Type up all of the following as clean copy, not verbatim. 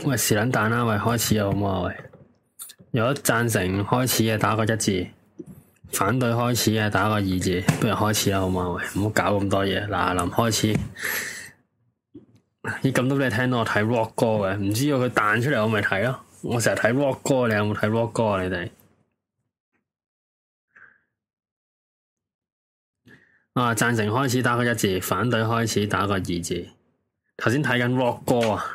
喂，是撚蛋啦！喂，開始啊，好唔好啊？喂，如果贊成開始嘅打個1字，反對開始嘅打個2字，不如開始啦，好唔好啊？喂，唔好搞咁多嘢，嗱，臨開始。咦，咁都俾你聽到我睇 rock 歌嘅，唔知道佢彈出嚟我咪睇咯。我成日睇 rock 歌，你有冇睇 rock 歌啊？你哋啊，贊成開始打個1字，反對開始打個2字。頭先睇緊 rock 歌啊！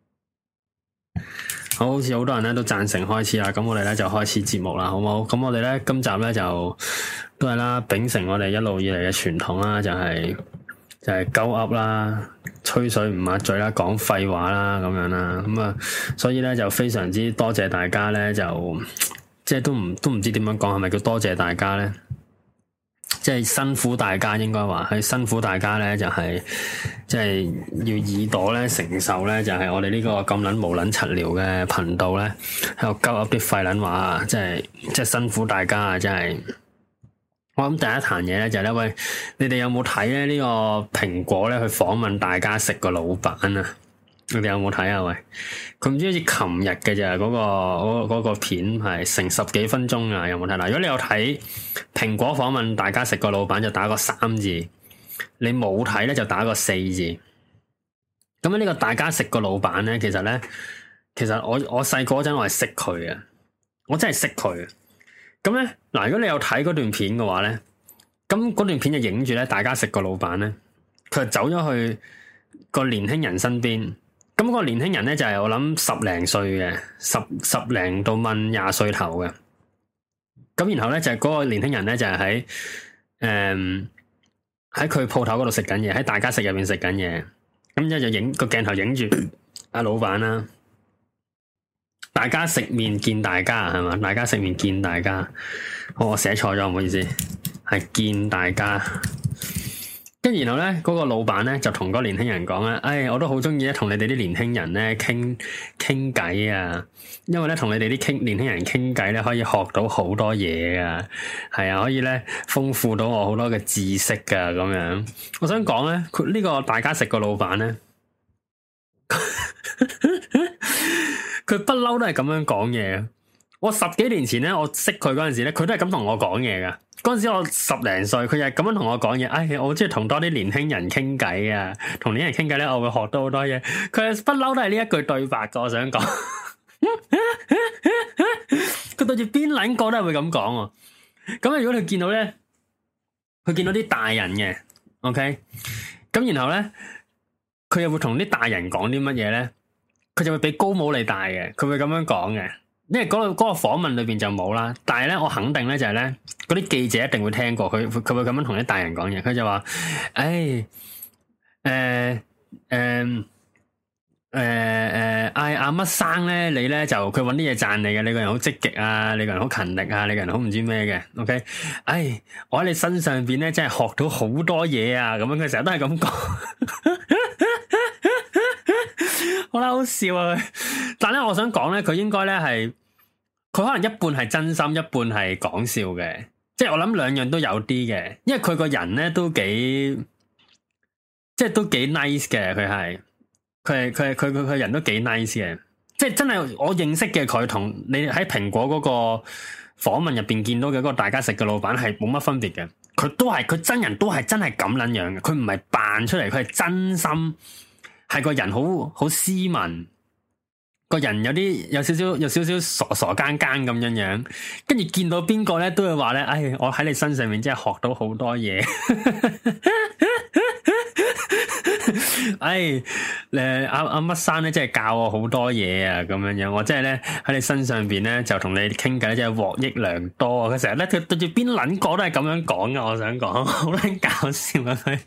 好似好多人咧都贊成開始啦，咁我哋咧就開始節目啦，好唔好？咁我哋咧今集咧就都係啦，秉承我哋一路以嚟嘅傳統啦，就係鳩噏啦，吹水唔抹嘴啦，講廢話啦，咁樣啦，咁啊，所以咧就非常之多謝大家咧，就即係都唔知點樣講，係咪叫多謝大家咧？即係辛苦大家，應該話係辛苦大家咧，就係即係要耳朵咧承受咧，就係我哋呢個咁撚無撚柒聊嘅頻道咧，喺度鳩噏啲廢撚話啊！即係辛苦大家啊！真係我諗第一壇嘢咧就係咧，喂，你哋有冇睇咧呢個蘋果咧去訪問大家食個老闆啊？你哋有冇睇啊？喂，佢唔知好似琴日嘅咋，嗰個片係成10幾分鐘啊！有冇睇？嗱，如果你有睇蘋果訪問大家食個老闆，就打個3字；你冇睇咧，就打個4字。咁呢個大家食個老闆咧，其實我細個嗰陣我係識佢嘅，我真係識佢。咁咧嗱，如果你有睇嗰段片嘅話咧，咁嗰段片就影住咧大家食個老闆咧，佢就走咗去個年輕人身邊。咁個年輕人咧就係我諗10零歲嘅，十零到問20歲頭嘅。咁然後咧就係嗰個年輕人咧就係喺佢鋪頭嗰度食緊嘢，喺大家食入邊食緊嘢。咁之後就影個鏡頭影住阿老闆啦。大家食麵見大家係嘛？大家食麵見大家。我寫錯咗，唔好意思，係見大家。跟然後咧，嗰個老闆咧就同嗰個年輕人講咧，我都好中意咧同你哋啲年輕人咧傾偈啊，因為咧同你哋啲年輕人傾偈咧可以學到好多嘢啊，係啊，可以咧豐富到我好多嘅知識噶咁樣。我想講咧，佢呢個大家食個老闆咧，佢不嬲都係咁樣講嘢。我10幾年前咧，我識佢嗰陣時咧，佢都係咁同我講嘢噶。嗰陣時我10零歲，佢又係咁樣同我講嘢。我好中意同多啲年輕人傾偈啊！同年輕人傾偈咧，我會學到好多嘢。佢係不嬲都係呢一句對白噶。我想講，佢對住邊撚個都係會咁講。咁如果佢見到咧，佢見到啲大人嘅，OK，咁然後咧，佢又會同啲大人講啲乜嘢咧？佢就會俾高帽你戴嘅，佢會咁樣講嘅。因為嗰個訪問裏邊就冇啦，但係咧我肯定咧就係咧嗰啲記者一定會聽過，佢會咁樣同啲大人講嘢，佢就話：阿乜生咧，你咧就佢搵啲嘢讚你嘅，你個人好積極啊，你個人好勤力啊，你個人好唔知咩嘅，OK？我喺你身上邊咧真係學到好多嘢啊，咁樣佢成日都係咁講。好啦，好笑啊！但係咧，我想講咧，佢應該咧係，佢可能一半係真心，一半係講笑嘅。即係我諗兩樣都有啲嘅，因為佢個人咧都幾，即係都幾 nice 嘅。佢人都幾 nice 嘅。即係真係我認識嘅佢同你喺蘋果嗰個訪問入邊見到嘅嗰個大家食嘅老闆係冇乜分別嘅。佢真人都係真係咁撚樣嘅，佢唔係扮出嚟，佢係真心。係個人好斯文，個人有少少傻更更咁樣，跟住見到邊個咧都會話咧，我喺你身上面真係學到好多嘢。阿乜生咧真係教我好多嘢啊，咁樣，我真係咧喺你身上邊咧就同你傾偈，真係獲益良多啊！佢成日咧佢對住邊撚個都係咁樣講噶，我想講好撚搞笑啊佢。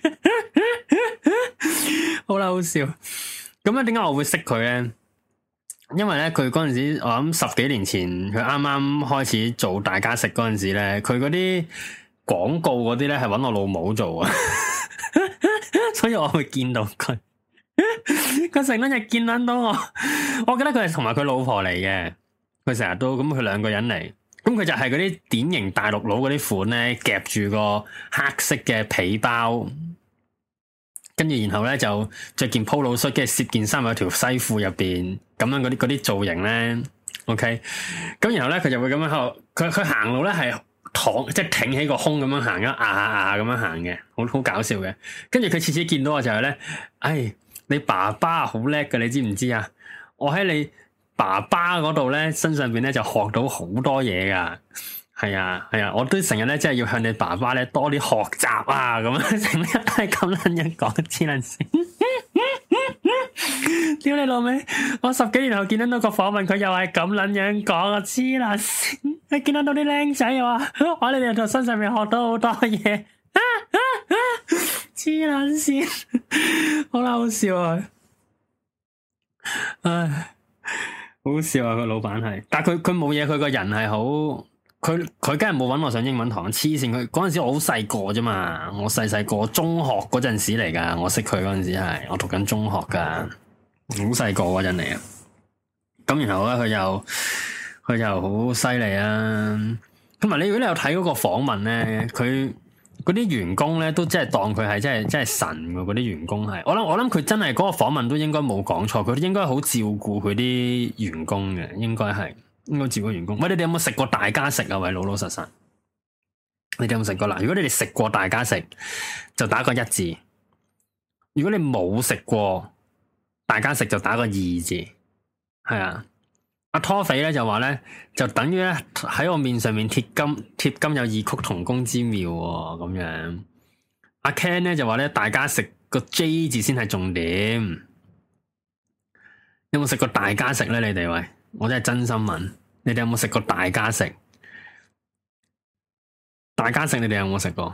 好啦，好笑。咁咧，點解我會識佢咧？因為咧，佢嗰陣時，我諗10幾年前，佢啱啱開始做大家食嗰陣時咧，佢嗰啲廣告嗰啲咧係搵我老母做啊，所以我會見到佢。佢成日見到我，我記得佢係同埋佢老婆嚟嘅。佢成日都咁，佢2個人嚟，咁佢就係嗰啲典型大陸佬嗰啲款咧，夾住個黑色嘅皮包。跟住然後咧就着件 polo 恤，跟住攝件衫喺條西褲入邊， 咁樣嗰啲造型咧，OK，咁然後咧佢就會咁樣喺度，佢行路咧係即係挺起個胸咁樣行，咁樣行嘅，好搞笑嘅。跟住佢次次見到我就係咧，哎，你爸爸好叻㗎，你知唔知啊？我喺你爸爸嗰度咧身上邊咧就學到好多嘢噶。係啊，我都成日咧，即係要向你爸爸咧多啲學習啊！咁樣成日都係咁撚樣講，黐撚線。屌你老味！我10幾年後見到個訪問，佢又係咁撚樣講啊！黐撚線，你見到啲僆仔又話，我喺你哋身上面學到好多嘢，黐撚線，好啦，好笑啊！唉，好笑啊！個老闆係，但係佢冇嘢，佢個人係好。佢梗係冇搵我上英文堂，黐線！佢嗰陣時我好細個啫嘛，我細個中學嗰陣時嚟噶，我識佢嗰陣時係我讀緊中學噶，好細個嗰陣嚟啊。咁然後咧，佢又好犀利啊。同埋如果你有睇嗰個訪問咧，佢嗰啲員工咧都真係當佢係真係神噶，嗰啲員工係。我諗佢真係嗰個訪問都應該冇講錯，佢都應該好照顧佢啲員工嘅，應該係。應該照顧員工。喂，你哋有冇食過大家食啊？喂，老實，你哋有冇食過啦？如果你哋食過大家食，就打個1字；如果你冇食過大家食，就打個2字。係啊，阿拖肥咧就話咧，就等於咧喺我面上面貼金有異曲同工之妙咁樣。阿 Ken 咧就話咧，大家食個 J 字先係重點。有冇食過大家食咧？你哋喂？我真係真心問，你哋有冇食過大家食？大家食你哋有冇食過？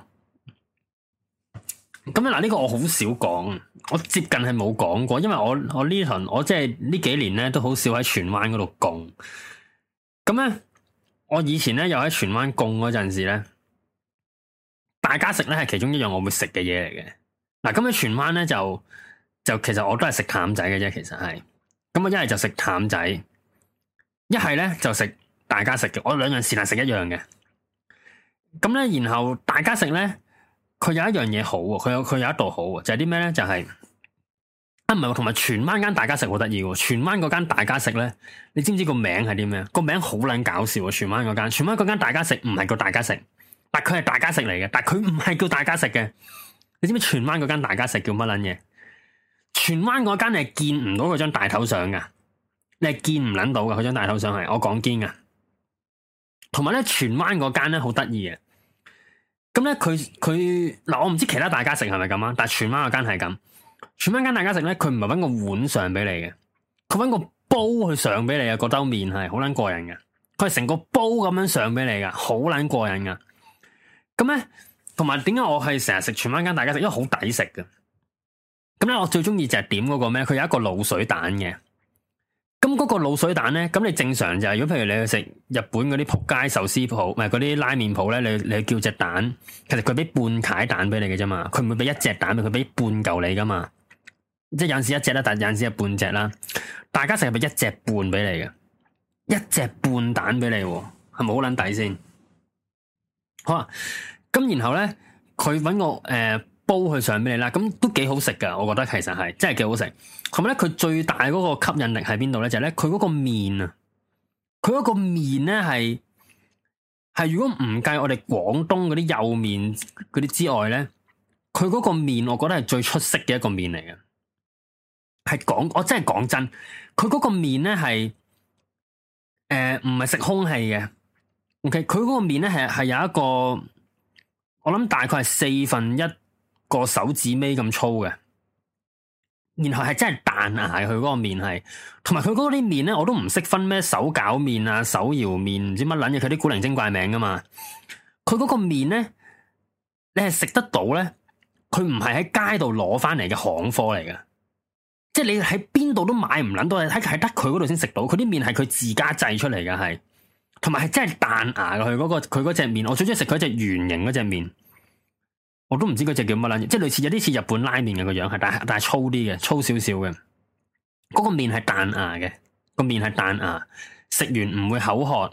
咁嗱，呢個我好少講，我接近係冇講過，因為我呢輪我即係呢幾年咧都好少喺荃灣嗰度供。咁咧，我以前咧又喺荃灣供嗰陣時咧，大家食咧係其中一樣我會食嘅嘢嚟嘅。嗱，咁喺荃灣咧就其實我都係食淡仔嘅啫，其實係。咁我一係就食淡仔。一係咧就食大家食嘅，我兩樣是但食一樣嘅。咁咧，然後大家食咧，佢有一樣嘢好喎，佢有一道好喎，就係啲咩咧？就係唔係，同埋荃灣間大家食好得意喎。荃灣嗰間大家食咧，你知唔知個名係啲咩？個名好撚搞笑喎！荃灣嗰間大家食唔係叫大家食，但佢係大家食嚟嘅，但佢唔係叫大家食嘅。你知唔知荃灣嗰間大家食叫乜撚嘢？荃灣嗰間你係見唔到佢張大頭相噶。你係見唔捻到嘅，佢張大頭相係我講堅噶。同埋咧，荃灣嗰間咧好得意嘅。咁咧，佢嗱，我唔知其他大家食係咪咁啊？但係荃灣嗰間係咁。荃灣間大家食咧，佢唔係搵個碗上俾你嘅，佢搵個煲去上俾你啊！嗰兜麵係好捻過癮嘅，佢係成個煲咁樣上俾你噶，好捻過癮噶。咁咧，同埋點解我係成日食荃灣間大家食？因為好抵食嘅。咁咧，我最中意就係點嗰個咩？佢有一個滷水蛋嘅。咁嗰個滷水蛋咧，咁你正常就係，如果譬如你去食日本嗰啲仆街壽司鋪，唔係嗰啲拉麵鋪咧，你叫隻蛋，其實佢俾半塊蛋俾你嘅啫嘛，佢唔會俾一隻蛋，佢俾半嚿你噶嘛，即係有陣時一隻啦，但有陣時係半隻啦。大家食係俾一隻半俾你嘅，一隻半蛋俾你，係咪好撚抵先？好啊，咁然後咧，佢搵個煲去上俾你啦，咁都幾好食噶，我覺得其實係真係幾好食。同埋咧，佢最大嗰個吸引力喺邊度咧？就係咧，佢嗰個麵啊，佢嗰個麵咧係如果唔計我哋廣東嗰啲幼麵嗰啲之外咧，佢嗰個麵我覺得係最出色嘅一個麵嚟嘅。我真係講真，佢嗰個麵咧係唔係食空氣嘅。OK，佢嗰個麵咧係有一個，我諗大概係1/4個手指尾咁粗嘅，然後係真係彈牙嘅，佢嗰個麵係，同埋佢嗰啲麵咧，我都唔識分咩手攪麵啊、手搖麵，唔知乜撚嘢，佢啲古靈精怪名噶嘛。佢嗰個麵咧，你係食得到咧，佢唔係喺街度攞翻嚟嘅行貨嚟嘅，即係你喺邊度都買唔撚到，係得佢嗰度先食到。佢啲麵係佢自家製出嚟嘅，係，同埋係真係彈牙嘅。佢嗰隻麵，我最中意食佢隻圓形嗰隻麵。我都唔知嗰隻叫乜撚嘢，即係類似有啲似日本拉麵嘅個樣，係但係粗啲嘅，粗少少嘅。嗰個麵係彈牙嘅，個麵係彈牙，食完唔會口渴。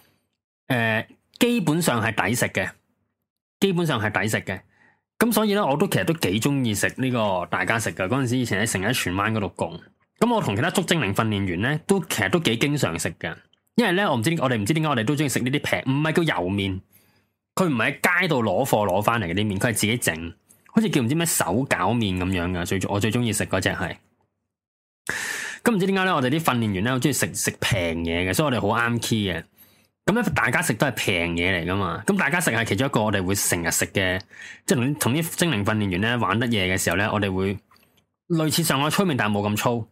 基本上係抵食嘅，基本上係抵食嘅。咁所以咧，我都其實都幾中意食呢個大家食嘅。嗰陣時以前喺成日喺荃灣嗰度供， 咁我同其他捉精靈訓練員咧，其實都幾經常食嘅，因為咧我哋唔知點解我哋都中意食呢啲平，唔係叫油麵，佢唔係喺街度攞貨攞翻嚟嘅啲麵，佢係自己整，好似叫唔知咩手攪麵咁樣噶。我最中意食嗰隻係。咁唔知點解咧，我哋啲訓練員咧好中意食平嘢嘅，所以我哋好啱 key 嘅。咁咧大家食都係平嘢嚟噶嘛，咁大家食係其中一個我哋會成日食嘅，即係同啲精靈訓練員咧玩得夜嘅時候咧，我哋會類似上海粗麵，但係冇咁粗，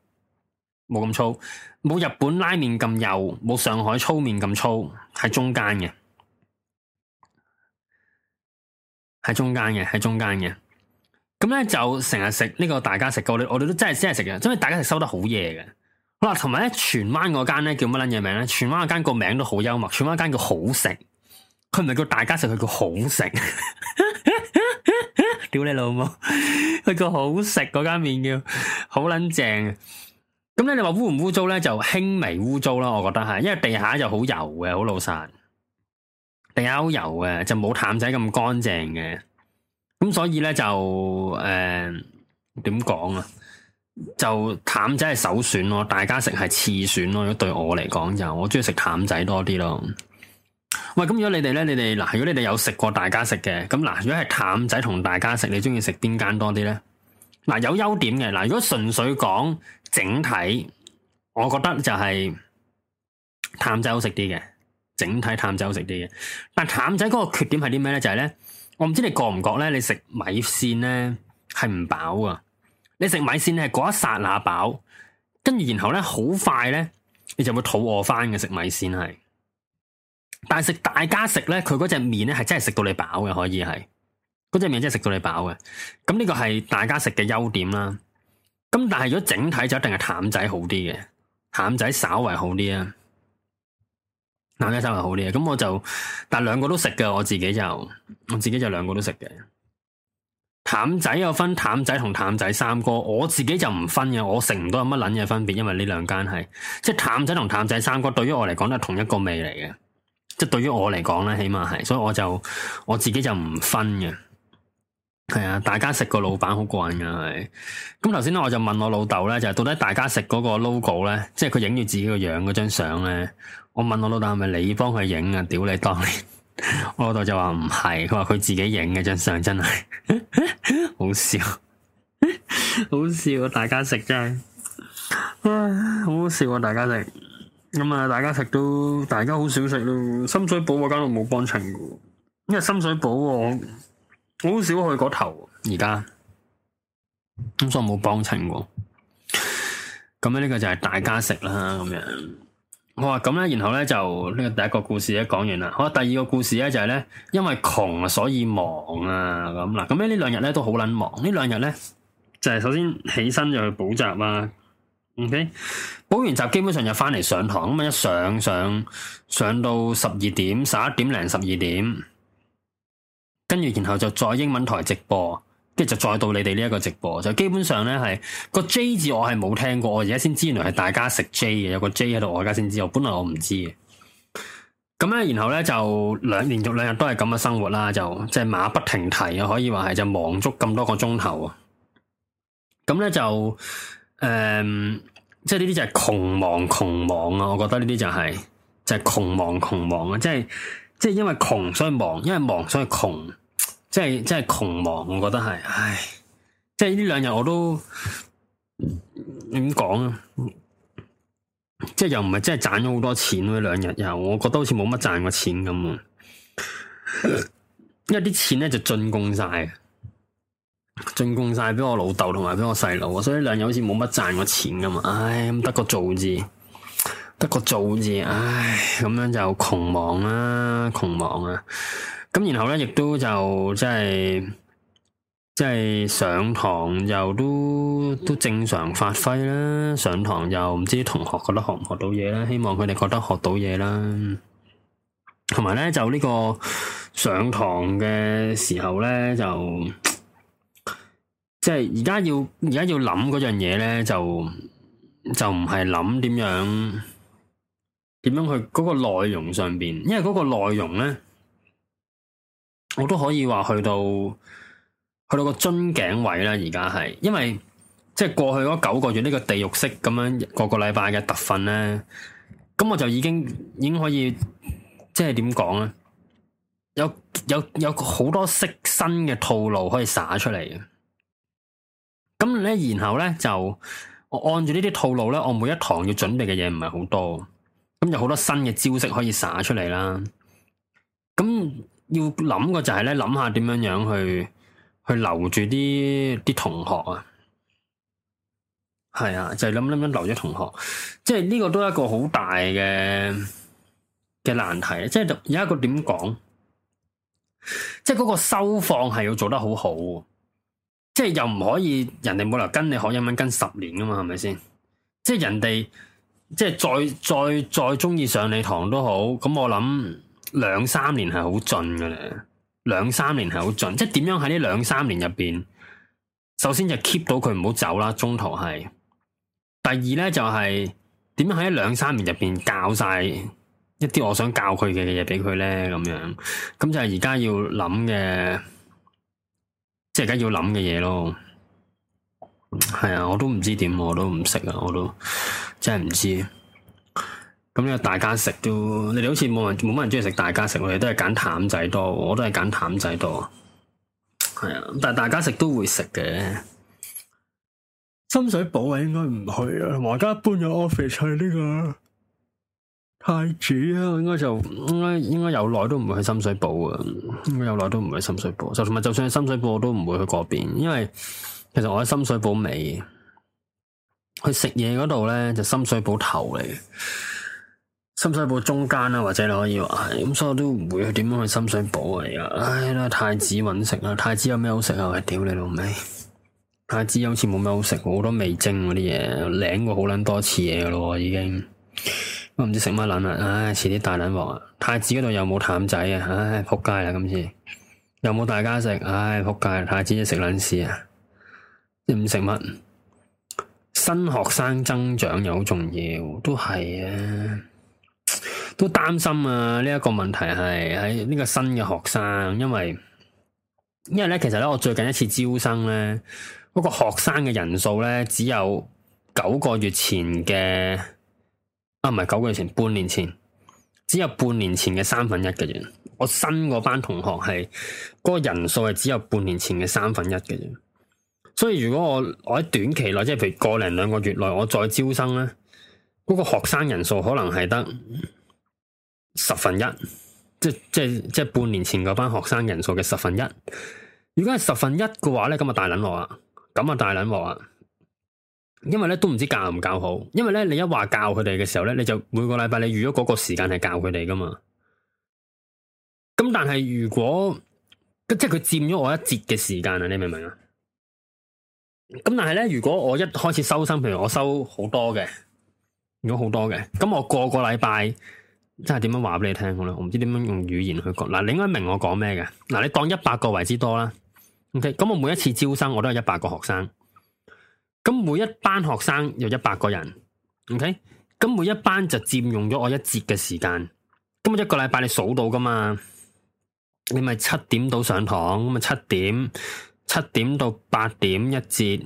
冇日本拉麵咁幼，冇上海粗麵咁粗，喺中間嘅，喺中間嘅。咁咧就成日食呢個大家食嘅，我哋都真係食嘅，因為大家食收得好夜嘅。好啦，同埋咧荃灣嗰間咧叫乜撚嘢名咧？荃灣嗰間個名都好幽默，荃灣嗰間叫好食，佢唔係叫大家食，佢叫好食。屌你老母，佢叫好食嗰間麵叫好撚正。咁咧你話污唔污糟咧？就輕微污糟啦，我覺得係，因為地下就好油嘅，好老實，地下好油嘅，就冇淡仔咁乾淨嘅。咁所以咧就點講啊？就淡仔係首選咯，大家食係次選咯。如果對我嚟講就，我中意食淡仔多啲咯。喂，咁如果你哋咧，嗱，如果你哋有食過大家食嘅，咁嗱，如果係淡仔同大家食，你中意食邊間多啲咧？嗱，有優點嘅，嗱，如果純粹講整體，我覺得就係淡仔好食啲嘅，整體淡仔好食啲嘅。但淡仔嗰個缺點係啲咩咧？就係咧，我唔知你覺唔覺咧，你食米線咧係唔飽啊？你食米線係嗰一剎那飽，跟住然後咧好快咧，你就會肚餓翻嘅。食米線係，但係食大家食咧，佢嗰隻麵咧係真係食到你飽嘅，可以係嗰隻麵真係食到你飽嘅。咁呢個係大家食嘅優點啦。咁但係如果整體就一定係淡仔好啲嘅，淡仔稍為好啲啊，淡仔稍為好啲啊。咁我就，但係兩個都食嘅，我自己就兩個都食嘅。淡仔有分淡仔同淡仔三哥，我自己就唔分嘅，我食唔到有乜撚嘢分別，因為呢兩間係即係淡仔同淡仔三哥，對於我嚟講都係同一個味嚟嘅，即係對於我嚟講咧，起碼係，所以我自己就唔分嘅。係啊，大家食個老闆好過癮噶係。咁頭先咧，我就問我老豆咧，就係到底大家食嗰個 logo 咧，即係佢影住自己個樣嗰張相咧，我問我老豆係咪你幫佢影啊？屌你當年！我老豆就話唔係，佢話佢自己影嘅張相，真係好笑，好笑啊！大家食真係，好好笑啊！大家食咁啊，大家食都大家好少食咯。深水埗嗰間我冇幫襯過，因為深水埗我好少去嗰頭，而家咁所以我冇幫襯過。咁咧呢個就係大家食啦，咁樣。好啊，咁咧，然後咧就呢個第一個故事咧講完啦。好，第二個故事咧就係咧，因為窮啊，所以忙啊，咁啦。咁咧呢兩日咧都好撚忙。呢兩日咧就係首先起身就去補習啦。OK，補完習基本上就翻嚟上堂，咁啊一上到12點、11點零、12點，跟住然後就再英文台直播。跟住就再到你哋呢一個直播，就基本上咧係個 J 字我係冇聽過，我而家先知原來係大家食 J 嘅，有個 J 喺度，我而家先知，我本來我唔知嘅。咁咧，然後咧就連續兩日都係咁嘅生活啦，就即係馬不停蹄啊，可以話係就忙足咁多個鐘頭啊。咁咧就即係呢啲就係窮忙啊！我覺得呢啲就係窮忙啊！即係因為窮所以忙，因為忙所以窮。即係窮忙，我覺得係，唉，即係呢兩日我都點講啊？即係又唔係真係賺咗好多錢咯，呢兩日又，我覺得好似冇乜賺過錢咁啊！因為啲錢咧就進貢晒俾我老豆同埋俾我細佬，所以呢兩日好似冇乜賺過錢咁啊！唉，咁得個做字，唉，咁樣就窮忙啊！咁然後咧，亦都就即係上堂又都正常發揮啦。上堂又唔知啲同學覺得學唔學到嘢啦，希望佢哋覺得學到嘢啦。同埋咧，就呢個上堂嘅時候咧，就即係而家要諗嗰樣嘢咧，就唔係諗點樣去嗰個內容上邊，因為嗰個內容咧。我都可以話去到個樽頸位啦，而家係，因為即係過去嗰9個月呢個地獄式咁樣個禮拜嘅特訓咧，咁我就已經可以即係點講咧？有好多新嘅套路可以灑出嚟嘅。咁咧，然後咧就我按住呢啲套路咧，我每一堂要準備嘅嘢唔係好多，咁有好多新嘅招式可以灑出嚟啦。咁要諗嘅就係咧，諗下點樣樣去留住啲同學啊。係啊，就係諗留咗同學，即係呢個都係一個好大嘅難題。即係有一個點講，即係嗰個收放係要做得好好，即係又唔可以人哋冇理由跟你學英文跟10年噶嘛，係咪先？即係人哋即係再中意上你堂都好，咁我諗2-3年係好盡噶啦，2-3年係好盡。即係點樣喺呢2-3年入邊，首先就 keep 到佢唔好走啦，中途係。第二咧就係點樣喺2-3年入邊教晒一啲我想教佢嘅嘢俾佢咧，咁樣咁就係而家要諗嘅，即係而家要諗嘅嘢咯。係啊，我都唔知點，我都唔識啊，我都真係唔知。咁呢個大家食都，你哋好似冇乜人中意食大家食，我哋都係揀淡仔多，我都係揀淡仔多。係啊，但係大家食都會食嘅。深水埗啊，應該唔去啊。我而家搬咗 office 去呢個太子啊，應該有耐都唔會去深水埗啊。應該有耐都唔會去深水埗，就算去深水埗，我都唔會去嗰邊，因為其實我喺深水埗尾，去食嘢嗰度咧就深水埗頭嚟，深水埗中間啦，或者你可以話係咁，所以我都唔會去點樣去深水埗啊。而家唉啦，太子搵食啦，太子有咩好食啊？喂，屌你老味！太子好似冇咩好食，好多味精嗰啲嘢，領過好撚多次嘢噶咯，已經我唔知食乜撚啦，唉，遲啲大撚鑊啊！太子嗰度又冇淡仔啊，唉，仆街啦今次，又冇大家食，唉，仆街！太子食撚屎啊，唔食乜？新學生增長又好重要，都係啊，都擔心啊！呢一個問題係喺呢個新嘅學生，因為咧，其實咧，我最近一次招生咧。嗰個學生嘅人數咧，只有9個月前嘅，唔係9個月前，半年前，只有半年前嘅1/3嘅啫。我新嗰班同學係嗰個人數係只有半年前嘅1/3嘅啫。所以如果我喺短期內，即係譬如個零2個月內，我再招生咧，嗰個學生人數可能係得1/10，即係半年前嗰班學生人數嘅1/10。如果係1/10嘅話咧，咁啊大撚鑊啊！咁啊大撚鑊啊！因為咧都唔知教唔教好，因為咧你一話教佢哋嘅時候咧，你就每個禮拜你預咗嗰個時間係教佢哋噶嘛。咁但係如果即係佢佔咗我一節嘅時間啊，你明唔明啊？咁但係咧，如果我一開始收生，譬如我收好多嘅，如果好多嘅，咁我個禮拜真係點樣話俾你聽好咧？我唔知點樣用語言去講。嗱，你應該明我講咩嘅？嗱，你當100個為之多啦。OK，咁我每一次招生我都有100個學生，咁每一班學生有100個人，OK，咁每一班就佔用咗我一節嘅時間，咁我一個禮拜你數到噶嘛，你咪7點到上堂，咁啊7點到8點一節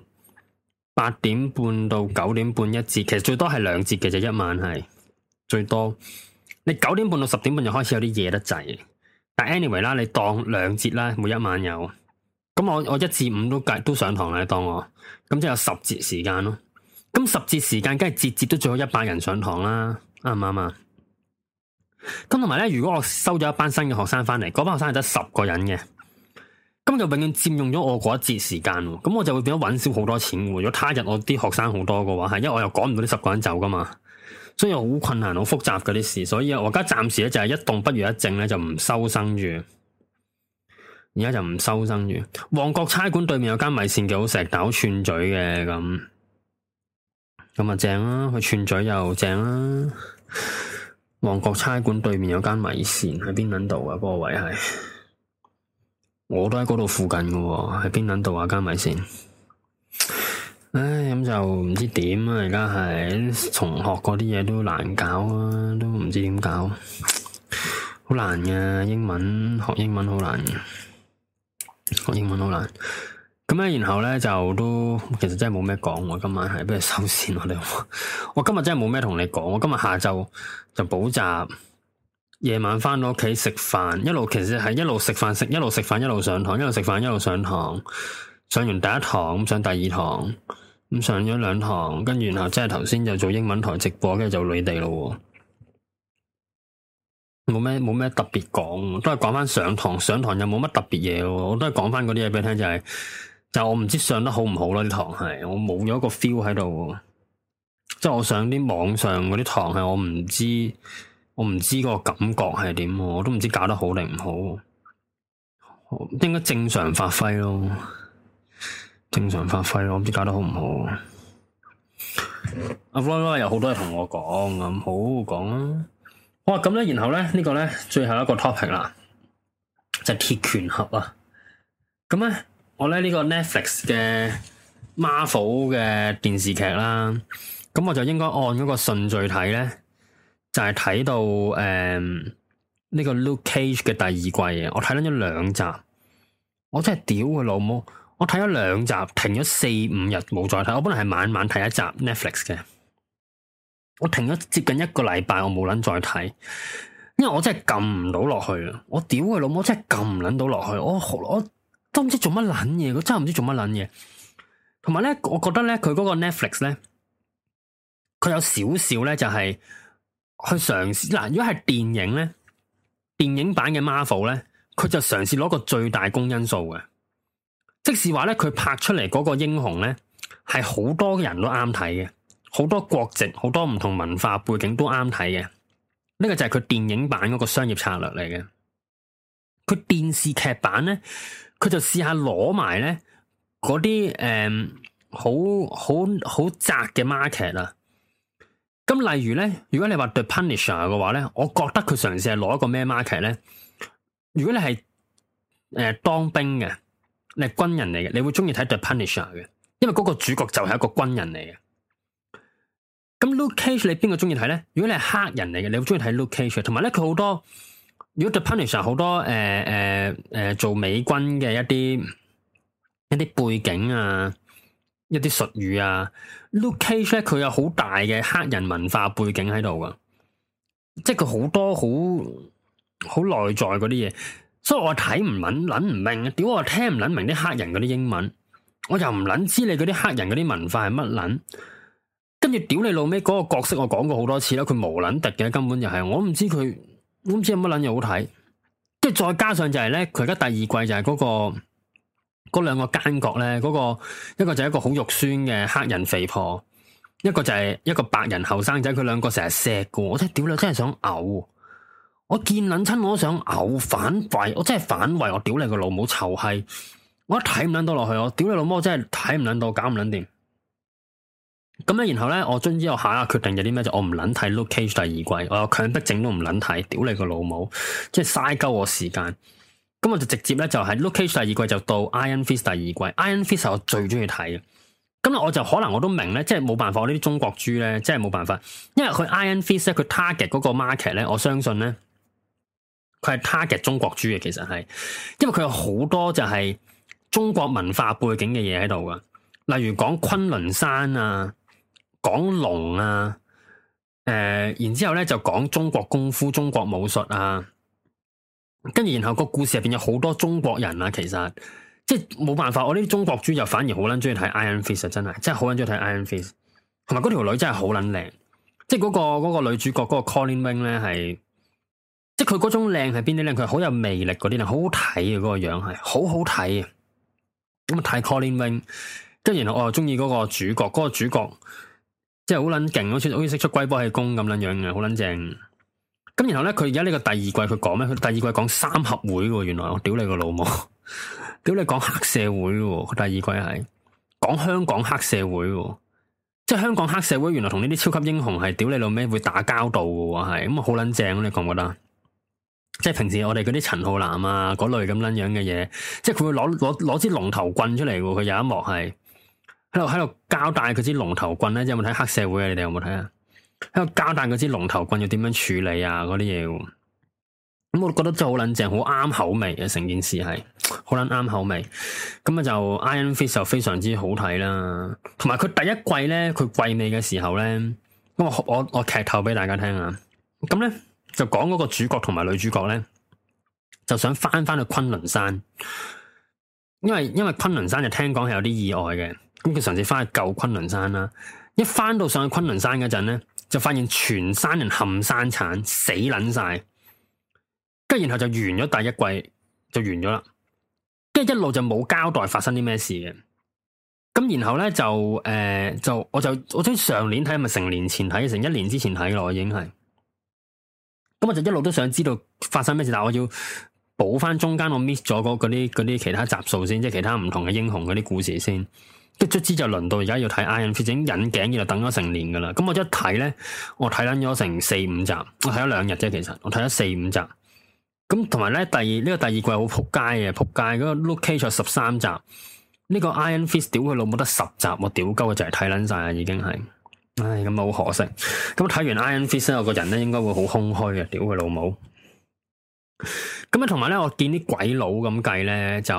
，8點半到9點半一節，其實最多係2節嘅啫，一晚係最多，你9點半到10點半就開始有啲夜得滯，但 anyway 啦，你當2節啦，每一晚有。咁我1至5都上堂啦，當我咁即係有10節時間咯。咁10節時間，梗係節節都最好100人上堂啦，啱唔啱啊？咁同埋咧，如果我收咗一班新嘅學生翻嚟，嗰班學生係得10個人嘅，咁就永遠佔用咗我嗰一節時間，咁我就會變咗搵少好多錢。如果他日我啲學生好多嘅話，係因為我又趕唔到啲10個人走噶嘛，所以好困難、好複雜嗰啲事。所以我而家暫時咧就係一動不如一靜咧，就唔收生住。而家就唔收生住。旺角差館對面有間米線幾好食，但好串嘴嘅咁啊正啦，佢串嘴又正啦。旺角差館對面有間米線喺邊撚度啊？嗰個位係，我都喺嗰度附近嘅喎，喺邊撚度啊？間米線，唉，咁就唔知點啊！而家係重學嗰啲嘢都難搞啊，都唔知點搞，好難嘅。英文學英文好難嘅。學英文好難， 咁咧，然後咧就都其實真係冇咩講喎。今晚係不如收線我哋。我今日真係冇咩同你講。我今日下晝就補習，夜晚翻到屋企食飯，其實係一路食飯一路食飯一路上堂，一路食飯一路上堂。上完第一堂咁上第二堂，咁上咗2堂，跟住然後即係頭先就做英文台直播，跟住就你哋咯。冇咩特別講，都係講翻上堂又冇乜特別嘢。我都係講翻嗰啲嘢俾你聽，就我唔知上得好唔好咯。啲堂係我冇咗個 feel 喺度，即係我上啲網上嗰啲堂係我唔知個感覺係點，我都唔知搞得好定唔好，應該正常發揮咯，我唔知搞得好唔好。阿 Roy 有好多嘢同我講，咁好講啦。好啊，咁咧，然後咧呢個咧最後一個 topic 啦，就係鐵拳俠啊。咁咧我咧呢個 Netflix 嘅 Marvel 嘅電視劇啦，咁我就應該按嗰個順序睇咧，就係睇到呢個 Luke Cage 嘅第2季嘅。我睇咗2集，我真係屌佢老母！我睇咗2集，停咗4-5日冇再睇。我本來係晚晚睇一集 Netflix 嘅。我停咗接近1個禮拜，我冇捻再睇，因為我真係撳唔到落去啊！我屌佢老母，真係撳唔捻到落去，我都唔知做乜捻嘢，我真係唔知做乜捻嘢。同埋咧，我覺得咧，佢嗰個 Netflix 咧，佢有少少咧，就係去嘗試嗱。如果係電影咧，電影版嘅 Marvel 咧，佢就嘗試攞個最大公因數嘅，即是話咧，佢拍出嚟嗰個英雄咧，係好多人都啱睇嘅。好多國籍、好多唔同文化背景都啱睇嘅，呢個就係佢電影版嗰個商業策略嚟嘅。佢電視劇版咧，佢就試下攞埋咧嗰啲好窄嘅 market 啊。咁例如咧，如果你話 The Punisher 嘅話咧，我覺得佢嘗試係攞一個咩 market 咧？如果你係當兵嘅，你係軍人嚟嘅，你會中意睇 The Punisher 嘅，因為嗰個主角就係一個軍人嚟嘅。咁 Luke Cage 你邊個中意睇咧？如果你係黑人嚟嘅，你會中意睇 Luke Cage。同埋咧，佢好多如果 The Punisher 好多做美軍嘅一啲背景啊，一啲術語啊。Luke Cage 咧，佢有好大嘅黑人文化背景喺度噶，即係佢好多好內在嗰啲嘢，所以我睇唔捻唔明，屌我聽唔捻明啲黑人嗰啲英文，我又唔捻知你嗰啲黑人嗰啲文化係乜捻。跟住屌你老味嗰個角色，我講過好多次啦，佢無撚敵嘅，根本就係我唔知有乜撚嘢好睇。跟住再加上就係咧，佢而家第2季就係嗰兩個奸角咧，一個就係一個好肉酸嘅黑人肥婆，一個就係一個白人後生仔，佢兩個成日錫嘅，我真係屌你，真係想嘔。我見撚親我都想嘔，反胃，我真係反胃，我屌你個老母臭閪，我一睇唔撚到落去，我屌你老母，我真係睇唔撚到，搞唔撚掂。咁咧，然後咧，我終於我下一個決定有啲咩，就我唔捻睇 Luke Cage 第2季，我有強迫症都唔捻睇，屌你個老母，即係嘥鳩我時間。咁我就直接咧就係 Luke Cage 第2季就到 Iron Fist 第2季，Iron Fist 係我最中意睇嘅。咁我就可能我都明咧，即係冇辦法，我呢啲中國豬咧，即係冇辦法，因為佢 Iron Fist 咧，佢 target 嗰個 market 咧，我相信咧，佢係 target 中國豬嘅，其實係，因為佢有好多就係中國文化背景嘅嘢喺度噶，例如講昆崙山啊。講龍啊，然之後咧就講中國功夫、中國武術啊，跟住然後個故事入邊有好多中國人啊，其實即係冇辦法，我呢啲中國豬就反而好捻中意睇 Iron Fist 啊，真係好捻中意睇 Iron Fist，同埋嗰條女真係好捻靚，即係嗰個女主角嗰個 Colleen Wing 咧係，即係佢嗰種靚係邊啲靚？佢好有魅力嗰啲靚，好好睇嘅嗰個樣係，好好睇啊！咁啊睇 Colleen Wing，跟住然後我又中意嗰個主角，嗰個主角。即係好撚勁，好似識出龜波氣功咁撚樣嘅，好撚正。咁然後咧，佢而家呢個第2季佢講咩？佢第2季講三合會嘅，原來我屌你個老母，屌你講黑社會嘅，佢第2季係講香港黑社會嘅，即係香港黑社會原來同呢啲超級英雄係屌你老味會打交道嘅，係咁啊好撚正，你覺唔覺得？即係平時我哋嗰啲陳浩南啊嗰類咁撚樣嘅嘢，即係佢會攞支龍頭棍出嚟嘅，佢有一幕係。喺度交代佢支龍頭棍咧，有冇睇黑社會啊？你哋有冇睇啊？喺度交代嗰支龍頭棍要點樣處理啊？嗰啲嘢， 咁我覺得真係好撚正，好啱口味嘅，成件事係好撚啱口味。咁啊就 Iron Fist 就非常之好睇啦，同埋佢第一季咧，佢季尾嘅時候咧，咁我劇透俾大家聽啊。咁咧就講嗰個主角同埋女主角咧，就想翻去昆崙山，因為昆崙山就聽講係有啲意外嘅，咁佢嘗試翻去救昆崙山啦。一翻到上去昆崙山嗰陣咧，就發現全山人冚山鏟，死撚晒。跟住然後就完咗第一季就完咗啦，跟住一路就冇交代發生啲咩事嘅。咁然後咧我將上年睇，咪成年前睇，成1年之前睇咯，我已經係。咁我就一路都想知道發生咩事，但係我要補翻中間我 miss 咗嗰啲其他集數先，即係其他唔同嘅英雄嗰啲故事先。跟住卒之就輪到而家要睇 Iron Fist 引頸，就等咗成年噶啦。咁我一睇咧，我睇撚咗成4-5集，我睇咗2日啫，其實我睇咗4-5集。咁同埋咧，呢個第二季好撲街嘅，撲街嗰個 Luke Cage 13集，呢個 Iron Fist 屌佢老母得10集，我屌鳩佢就係睇撚晒啊，已經係，唉咁啊好可惜。咁睇完 Iron Fist 咧，我個人咧應該會好空虛嘅，屌佢老母。咁啊，同埋咧，我見啲鬼佬咁計咧，就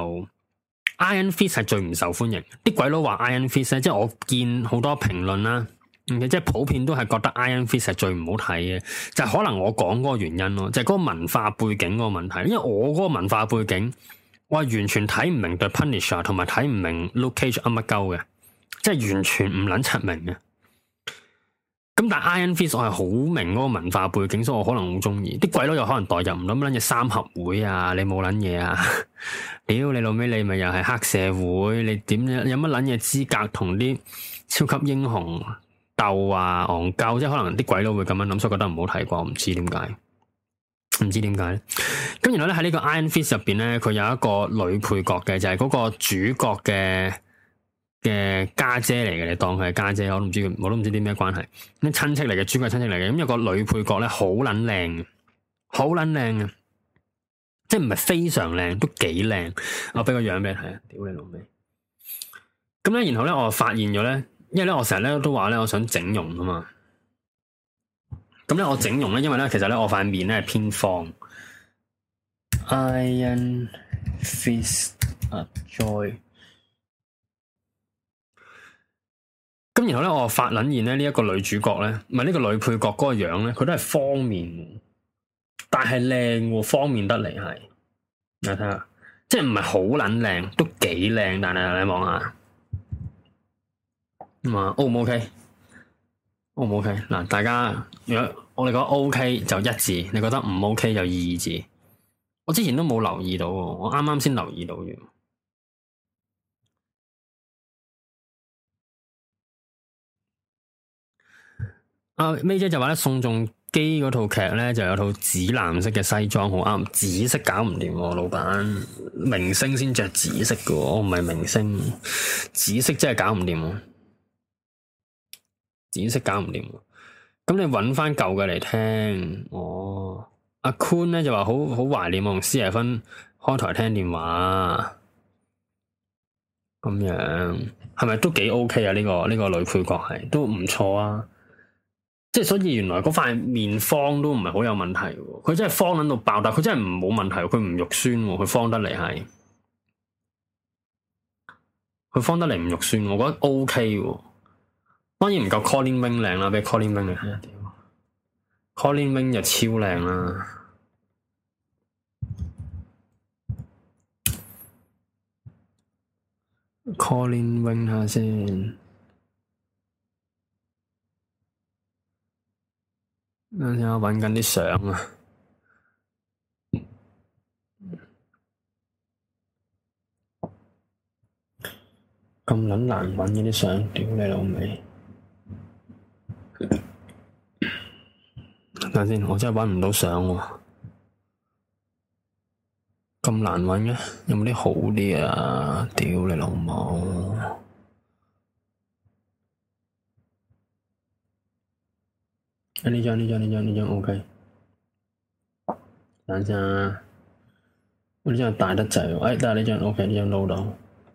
Iron Fist 係最唔受歡迎。啲鬼佬話 Iron Fist 咧，即係我見好多評論啦。即係普遍都係覺得 Iron Fist 係最唔好睇嘅，就係可能我講嗰個原因咯，就係嗰個文化背景嗰個問題。因為我嗰個文化背景，我係完全睇唔明 The Punisher 同埋睇唔明 Luke Cage 乜鳩嘅，即係完全唔撚出明嘅。咁但係 Iron Fist 我係好明嗰個文化背景，所以我可能好中意。啲鬼佬又可能代入唔到乜撚嘢三合會啊，你冇撚嘢啊？屌你老味，你咪又係黑社會，你點有乜撚嘢資格同啲超級英雄鬥啊戇鳩，即係可能啲鬼佬會咁樣諗，所以覺得唔好睇啩，唔知點解，唔知點解咧。咁然後咧喺呢個 Iron Fist 入邊咧，佢有一個女配角嘅，就係嗰個主角嘅家姐嚟嘅，你當佢係家姐，我都唔知啲咩關係，啲親戚嚟嘅，主角親戚嚟嘅。咁有個女配角咧，好撚靚，好撚靚嘅，即係唔係非常靚，都幾靚。我俾個樣俾你睇啊，屌你老味。咁咧，然後咧，我發現咗咧。因為咧，我成日咧都話咧，我想整容啊嘛。咁咧，我整容咧，因為咧，其實咧，我塊面咧係偏方。Iron Fist a Joy。咁然後咧，我發撚現咧呢一個女主角咧，唔係呢個女配角嗰個樣咧，佢都係方面，但係靚喎，方面得嚟係。你睇下，即係唔係好撚靚，都幾靚，但係你望下。O 唔 OK？O 唔 OK？嗱，大家如果我哋覺得 OK 就1字，你覺得唔 OK 就2字。我之前都冇留意到，我啱啱先留意到嘅。May 姐就話咧，宋仲基嗰套劇咧就有套紫藍色嘅西裝，好啱。紫色搞唔掂，老闆，明星先着紫色嘅，我唔係明星，紫色真係搞唔掂。紫色搞唔掂，咁你揾翻舊嘅嚟聽。哦，阿 Kun 咧就話好懷念我同施爺芬開台聽電話，咁樣係咪都幾 OK 啊？呢個女配角係都唔錯啊，即係所以原來嗰塊面方都唔係好有問題，佢真係方撚到爆，但佢真係唔冇問題，佢唔肉酸，佢方得嚟係，佢方得嚟唔肉酸，我覺得 OK 喎。當然唔夠 Colin Wing 靚啦，俾 Colin Wing 嚟睇下屌，Colin Wing 就超靚啦。Colin Wing 下先，等陣我揾緊啲相啊，咁撚難揾嗰啲相，屌你老味！等下先，我真係揾唔到相喎，咁難揾嘅，有冇啲好啲啊？屌你老母！呢張 OK。等陣啊，我呢張大得滯喎，但係呢張 OK， 呢張撈到。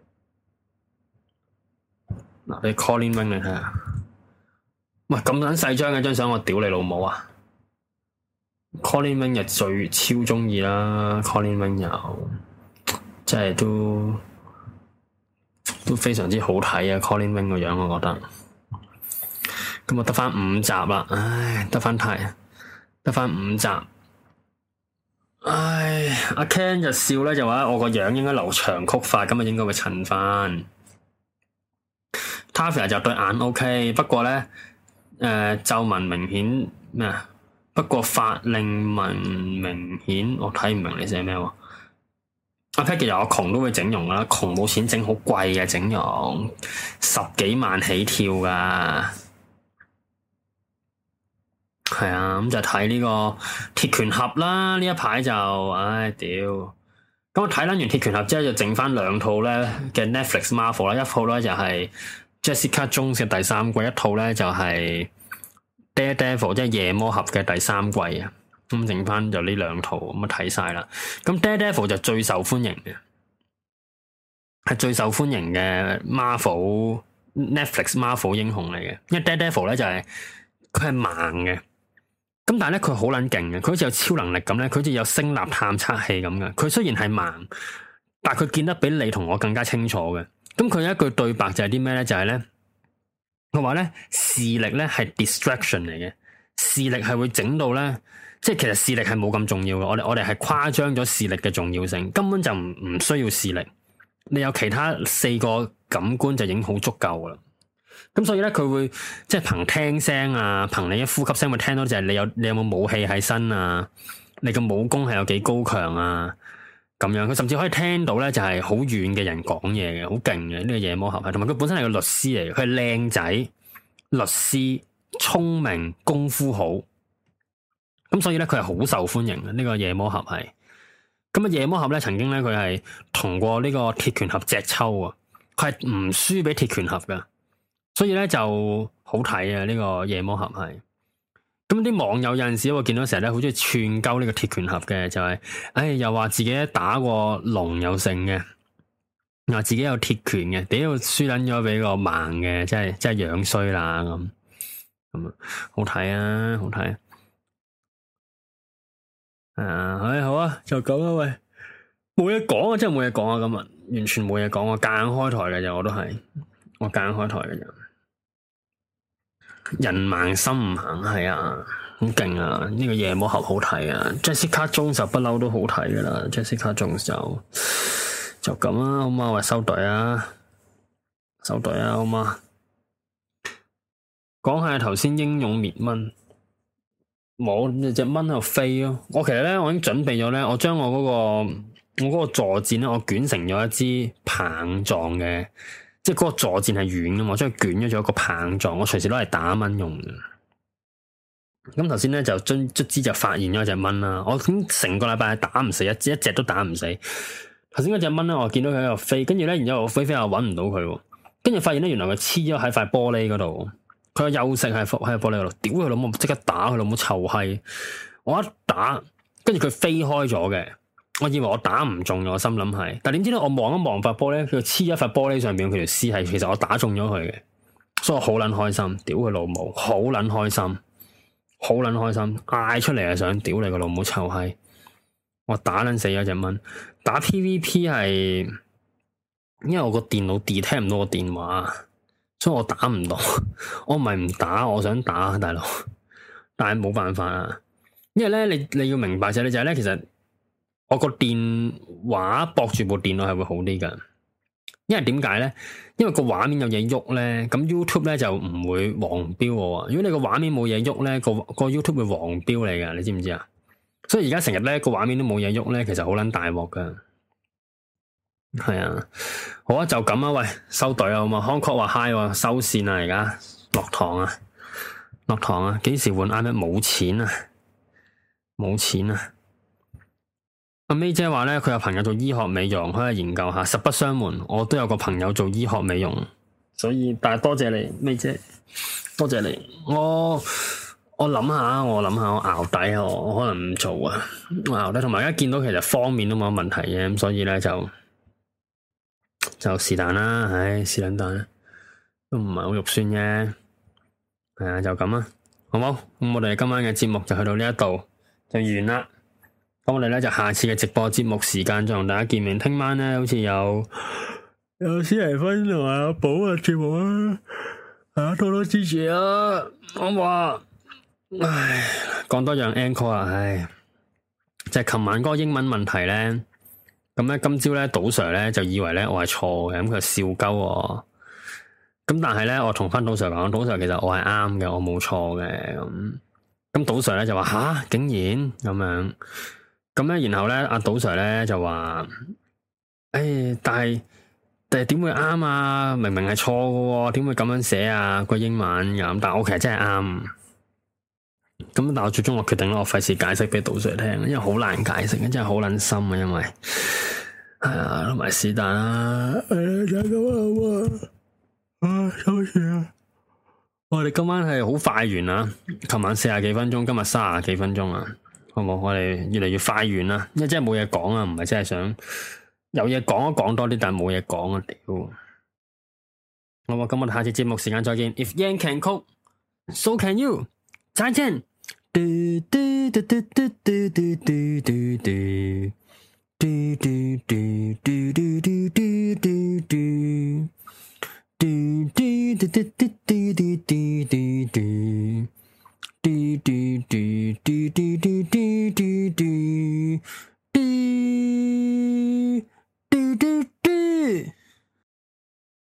嗱，俾 Colin Wing 你睇下。喂，咁撚細張嘅張相，我屌你老母啊！ Colin Wing 就最超鍾意啦，Colin Wing 又即係都非常之好睇啊！Colin Wing 個樣我覺得，咁我得返5集啦，唉，得返5集，唉，阿 Ken 就笑咧，就話我個樣應該留長曲髮，咁啊應該會襯返。Tavia 就對眼 OK， 不過咧皺紋明顯咩啊？不過法令紋明顯，我睇唔明你寫咩喎？阿 Pat 其實我窮都會整容噶啦，窮冇錢整好貴嘅整容，10幾萬起跳噶。係啊，咁就睇呢個鐵拳俠啦。呢一排就，唉屌！咁我睇撚完鐵拳俠之後，就剩翻2套咧嘅 Netflix Marvel 啦，一套咧就係 Jessica Jones 嘅第3季，一套咧就係 Daredevil 即係夜魔俠嘅第3季啊。咁剩翻就呢2套咁啊睇晒啦。咁 Daredevil 就最受歡迎嘅，係最受歡迎嘅 Netflix Marvel 英雄嚟嘅。因為 Daredevil 咧就係佢係盲嘅，咁但係咧佢好撚勁嘅，佢好似有超能力咁咧，佢好似有聲納探測器咁嘅。佢雖然係盲，但係佢見得比你同我更加清楚嘅。咁佢有一句對白就係啲咩咧？就係咧，佢話咧視力咧係 distraction 嚟嘅，視力係會整到咧。即係其實視力係冇咁重要嘅，我哋係誇張咗視力嘅重要性，根本就唔需要視力，你有其他4個感官就已經好足夠噶啦。咁所以咧，佢會即係憑聽聲啊，憑你一呼吸聲會聽到就係你有冇武器喺身啊，你嘅武功係有幾高強啊，咁樣佢甚至可以聽到咧就係好遠嘅人講嘢嘅，好勁嘅呢個夜魔俠係，同埋佢本身係個律師嚟嘅，佢係靚仔律師，聰明，功夫好。咁所以咧，佢係好受歡迎嘅。呢個夜魔俠係，咁啊夜魔俠咧，曾經咧佢係同過呢個鐵拳俠隻抽啊，佢係唔輸俾鐵拳俠噶，所以咧就好睇啊！呢個夜魔俠係，咁啲網友有陣時我見到成日咧好中意串鳩呢個鐵拳俠嘅，就係，又話自己打過龍有勝嘅，話自己有鐵拳嘅，屌輸撚咗俾個盲嘅，真係樣衰啦咁啊，好睇啊，好睇。好啊，就咁啦，喂，冇嘢講啊，真係冇嘢講啊，今日完全冇嘢講，我夾硬開台嘅啫，我夾硬開台嘅啫，人盲心唔行，係啊，好勁啊，呢個夜魔俠好睇啊 ，Jessica Jones 就不嬲都好睇噶啦 ，Jessica Jones 就咁啊，好嘛，喂，收隊啊，好嘛，講下頭先英勇滅蚊。冇隻蚊喺度飛咯，我其實咧我已經準備咗咧，我將我嗰個坐墊咧，我捲成咗一支棒狀嘅，即係嗰個坐墊係軟噶嘛，我將佢捲咗做一個棒狀，我隨時攞嚟打蚊用嘅。咁頭先咧就卒之就發現咗隻蚊啦，我咁成個禮拜係打唔死一隻都打唔死。頭先嗰隻蚊咧，我見到佢喺度飛，跟住咧，然之後我飛又搵唔到佢，跟住發現咧，原來佢黐咗喺塊玻璃嗰度。佢休息喺玻璃嗰度，屌佢老母！即刻打佢老母臭閪！我一打，跟住佢飛開咗嘅，我以為我打唔中咗，我心諗係，但係點知咧，我望一望塊玻璃，佢黐咗塊玻璃上邊，佢條絲係，其實我打中咗佢嘅，所以我好撚開心，屌佢老母，好撚開心，嗌出嚟啊！想屌你個老母臭閪！我打撚死咗隻蚊，打 PVP 係，因為我個電腦 detect 唔到個電話。所以我打唔到，我唔係唔打，我想打大佬，但係冇辦法啊！因為咧，你要明白就係咧，其實我個電話駁住部電腦係會好啲噶。因為點解咧？因為個畫面有嘢喐咧，咁 YouTube 咧就唔會黃標我。如果你個畫面冇嘢喐咧，個 YouTube 會黃標你噶，你知唔知啊？所以而家成日咧個畫面都冇嘢喐咧，其實好撚大鑊噶。係啊，好啊，就咁啊，喂，收隊啊，好嘛？Hancock 話 hi，收線啊，而家落堂啊，幾時換 iPad？冇錢啊！阿 May 姐話咧，佢有朋友做醫學美容，可以研究下。實不相瞞，我都有個朋友做醫學美容，所以但係多謝你，May 姐，多謝你。我諗下，我熬底啊，我可能唔做啊，我熬底。同埋而家見到其實方面都冇問題嘅，咁所以咧就是但啦，唉，是但但都唔係好肉酸啫，係啊，就咁啊，好冇？咁我哋今晚嘅節目就去到呢一度， 就完啦。咁我哋咧就下次嘅直播節目時間再同大家見面。聽晚咧好似有史提芬同埋阿寶嘅節目啊，大家多多支持啊！我話，唉，講多樣 encore 啊，唉，就係琴晚嗰個英文問題咧，咁咧今朝咧賭 Sir 咧就以為咧我係錯嘅，咁佢笑鳩我。咁但係咧，我同翻賭 Sir 講，賭 Sir 其實我係啱嘅，我冇錯嘅。咁賭 Sir 咧就話吓，竟然咁樣。咁咧，然後咧，阿賭 Sir 咧就話，誒，但係點會啱啊？明明係錯嘅，點會咁樣寫啊？個英文咁，但係我其實真係啱。咁但係我最終我決定啦，我費事解釋俾賭 Sir 聽，因為好難解釋，真係好撚深啊，因為係啊，同埋是但啦，就係咁啊，收線啊！我哋今晚係好快完啦，琴晚40幾分鐘，今日30幾分鐘啊！好冇？我哋越嚟越快完啦，因為真係冇嘢講啊，唔係真係想有嘢講都講多啲，但係冇嘢講啊！屌，好冇？咁我哋下次節目時間再見。If Yan can cook, so can you。再見。